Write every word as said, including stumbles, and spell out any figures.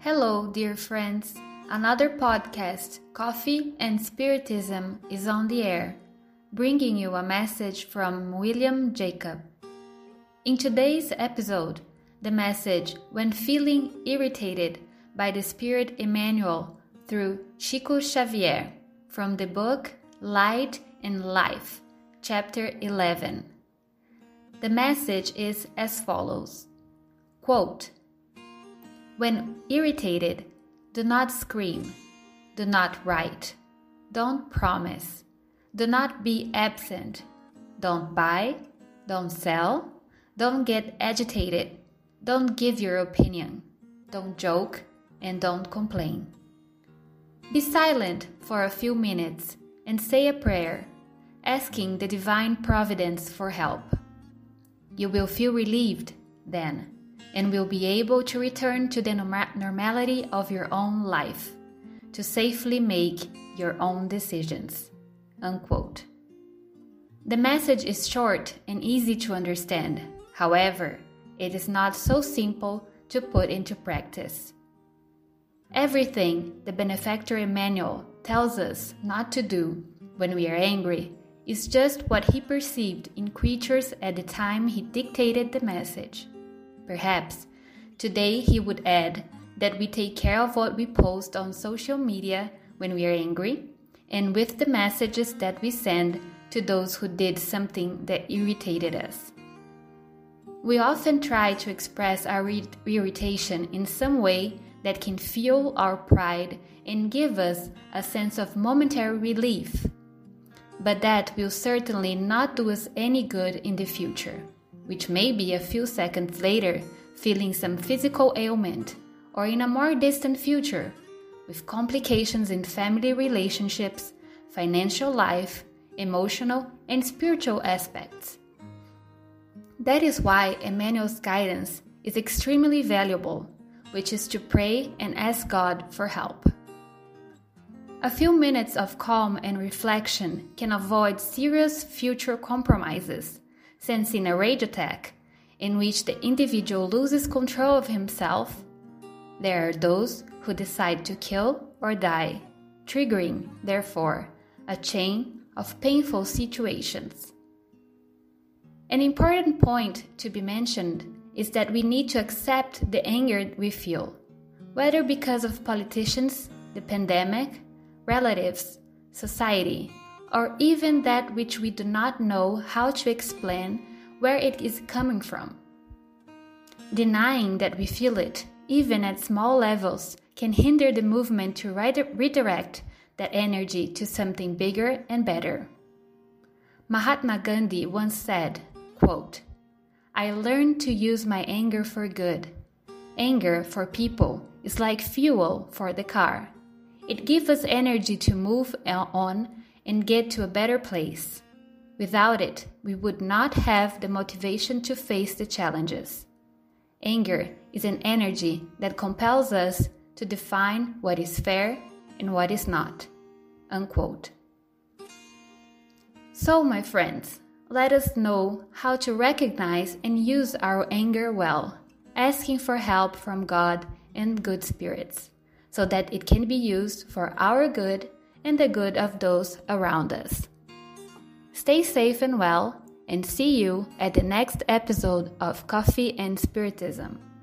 Hello, dear friends. Another podcast, Coffee and Spiritism, is on the air, bringing you a message from William Jacob. In today's episode, the message When Feeling Irritated by the Spirit Emmanuel through Chico Xavier from the book Light and Life, chapter eleven. The message is as follows. Quote, When irritated, do not scream, do not write, don't promise, do not be absent, don't buy, don't sell, don't get agitated, don't give your opinion, don't joke, and don't complain. Be silent for a few minutes and say a prayer, asking the divine providence for help. You will feel relieved then, and will be able to return to the norma- normality of your own life, to safely make your own decisions. Unquote. The message is short and easy to understand. However, it is not so simple to put into practice. Everything the benefactor Emmanuel tells us not to do when we are angry is just what he perceived in creatures at the time he dictated the message. Perhaps today he would add that we take care of what we post on social media when we are angry and with the messages that we send to those who did something that irritated us. We often try to express our re- irritation in some way that can fuel our pride and give us a sense of momentary relief. But that will certainly not do us any good in the future, which may be a few seconds later feeling some physical ailment, or in a more distant future, with complications in family relationships, financial life, emotional and spiritual aspects. That is why Emmanuel's guidance is extremely valuable, which is to pray and ask God for help. A few minutes of calm and reflection can avoid serious future compromises, since in a rage attack, in which the individual loses control of himself, there are those who decide to kill or die, triggering, therefore, a chain of painful situations. An important point to be mentioned is that we need to accept the anger we feel, whether because of politicians, the pandemic, relatives, society, or even that which we do not know how to explain where it is coming from. Denying that we feel it, even at small levels, can hinder the movement to redirect that energy to something bigger and better. Mahatma Gandhi once said, quote, I learned to use my anger for good. Anger for people is like fuel for the car. It gives us energy to move on and get to a better place. Without it, we would not have the motivation to face the challenges. Anger is an energy that compels us to define what is fair and what is not. Unquote. So, my friends, let us know how to recognize and use our anger well, asking for help from God and good spirits, so that it can be used for our good and the good of those around us. Stay safe and well, and see you at the next episode of Coffee and Spiritism.